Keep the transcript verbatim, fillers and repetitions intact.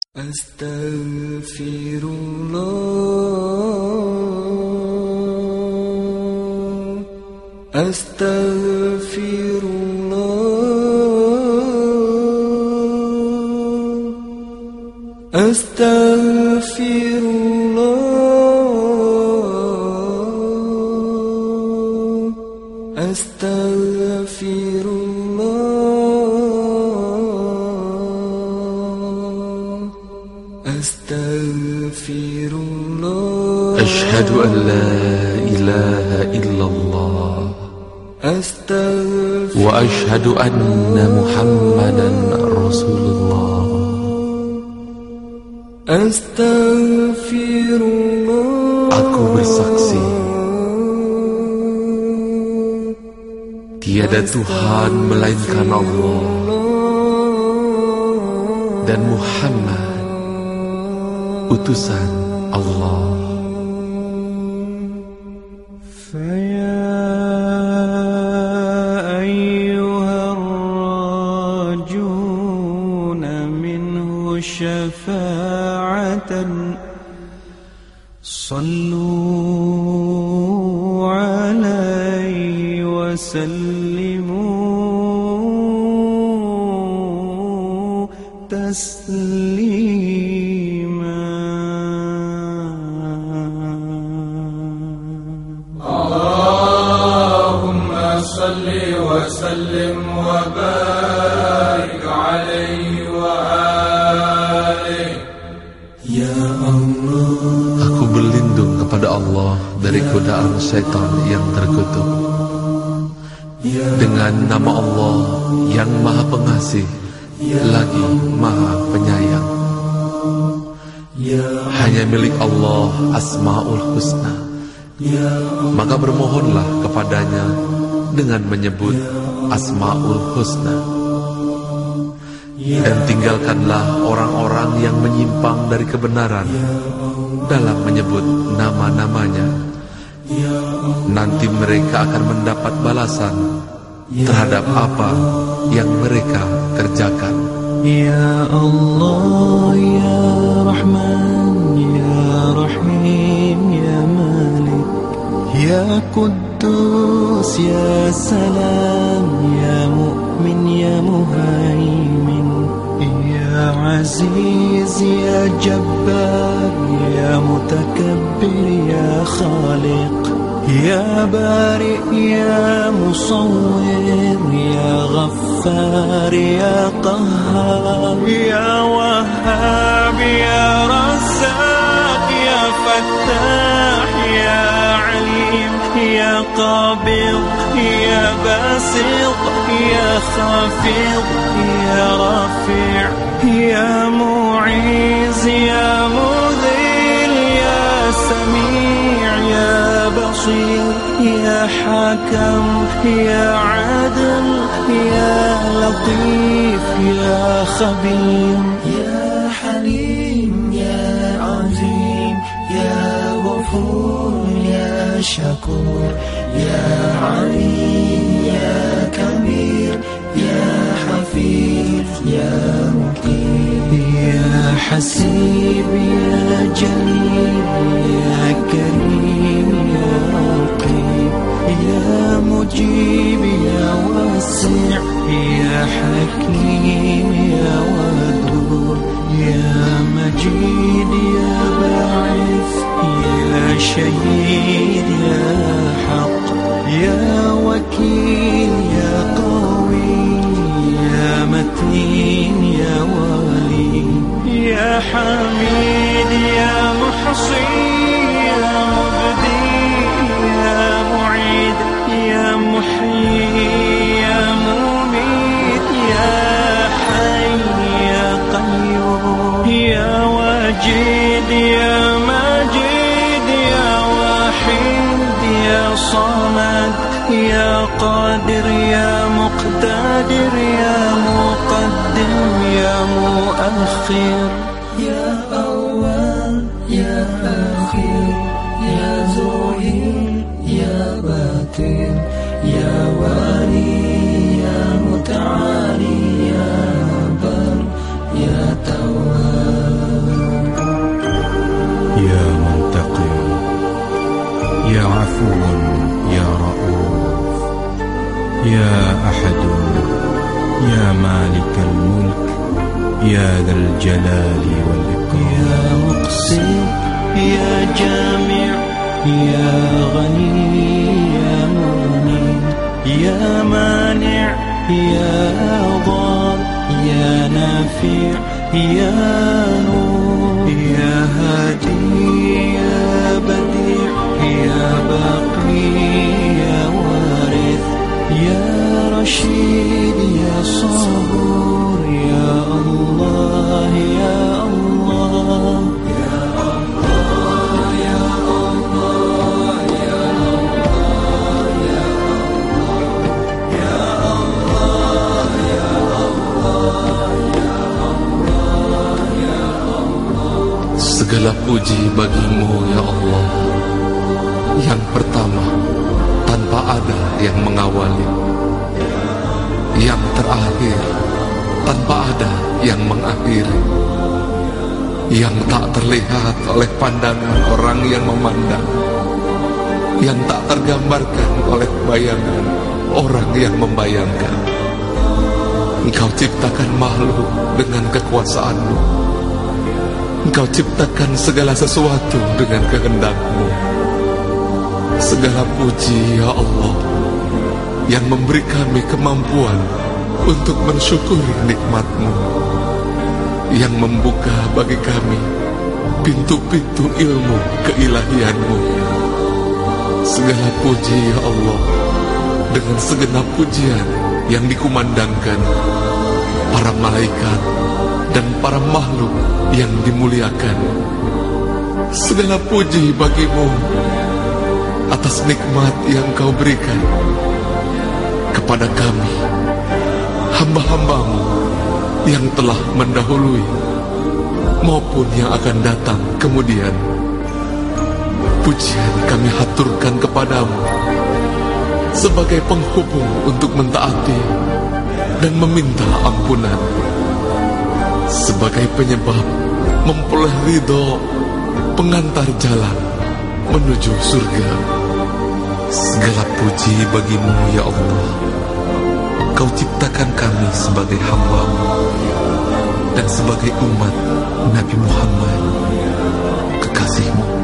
Astaghfirullah, astaghfirullah, astaghfirullah, astaghfirullah. Astaghfirullah. Asyhadu an la ilaha illallah. Astaghfirullah. Wa asyhadu anna Muhammadan Rasulullah. Astaghfirullah. Aku bersaksi tiada Tuhan melainkan Allah, dan Muhammad utusan Allah. Faya ayyuhar rajuna minhu syafa'atan, sallu alaihi wa sallimu taslima. Salli wa sallim wa barik alaihi wa alihi. Ya Allah, aku berlindung kepada Allah dari godaan syaitan yang terkutuk. Dengan nama Allah yang Maha Pengasih lagi Maha Penyayang. Hanya milik Allah Asmaul Husna, maka bermohonlah kepadanya dengan menyebut Asmaul Husna, dan tinggalkanlah orang-orang yang menyimpang dari kebenaran dalam menyebut nama-namanya. Nanti mereka akan mendapat balasan terhadap apa yang mereka kerjakan. Ya Allah, Ya Rahman, Ya Rahim, Ya Malik, Ya Quddus, Ya Salam, Ya Mu'min, Ya Muhaimin, Ya Aziz, Ya Jabbar, Ya Mutakabbir, Ya Khaliq, Ya Bari, Ya Musawwir, Ya Ghaffar, Ya Qahhar, Ya Wahhab, Ya Razzaq, Ya Fattah, Ya Alim, Ya Qabid, Ya Basit, Ya Khafid, Ya Rafi', Ya Mu'iz, Ya Mudhil, Ya Sami', Ya Basir, Ya Hakam, Ya Adil, Ya Latif, Ya Khabir, Ya Halim, Ya Azim, Ya Ghafur, Ya Shakur, Ya Alim, Ya Kabir, Ya Hafiz, Ya Muqim, Ya Hasib, Ya Jalil, Ya Karim, Ya Raqib, Ya Mujib, Ya Wasi', Ya Hakim, Ya Wadud, Ya Majid, Ya Ba'ith, Ya Shahid, Ya Haq, Ya Wakil, Ya Qawi, Ya Matin, Ya Wali, Ya Hamid, Ya Muhsi, Ya Mubdi, Ya Mu'id, Ya Muhyi, Ya Mumit, Ya Hayy, Ya Qayyum, Ya Wajid, Ya Majid, Ya Wahid, Ya Samad, Ya Qadir, Ya Muqtadir, Ya Muqaddim, Ya Muakhir, Ya Awwal, Ya Akhir, Ya Zuhir, Ya Batin, Ya Wali, Ya Muta'ali, Ya Bar, Ya Tawwab. عفو يا رؤوف يا أحد يا مالك الملك يا ذا الجلال والإكرام يا مقسم يا جامع يا غني يا مغني يا مانع يا ضار يا نافع يا نور يا هادي يا بديع يا باقي يا وارث يا رشيد يا صبور يا الله يا الله يا الله يا الله يا الله يا الله يا الله يا Allah ya Allah ya Allah. Segala puji bagimu ya Allah, yang pertama tanpa ada yang mengawali, yang terakhir tanpa ada yang mengakhiri, yang tak terlihat oleh pandangan orang yang memandang, yang tak tergambarkan oleh bayangan orang yang membayangkan. Engkau ciptakan makhluk dengan kekuasaan-Mu. Engkau ciptakan segala sesuatu dengan kehendak-Mu. Segala puji ya Allah yang memberi kami kemampuan untuk mensyukuri nikmat-Mu, yang membuka bagi kami pintu-pintu ilmu keilahian-Mu. Segala puji ya Allah dengan segenap pujian yang dikumandangkan para malaikat dan para makhluk yang dimuliakan. Segala puji bagimu atas nikmat yang Kau berikan kepada kami, hamba-hambamu yang telah mendahului maupun yang akan datang kemudian. Pujian kami haturkan kepadamu sebagai penghubung untuk mentaati dan meminta ampunan, sebagai penyebab memperoleh ridho, pengantar jalan menuju surga. Segala puji bagimu ya Allah. Kau ciptakan kami sebagai hamba-Mu dan sebagai umat Nabi Muhammad, kekasih-Mu.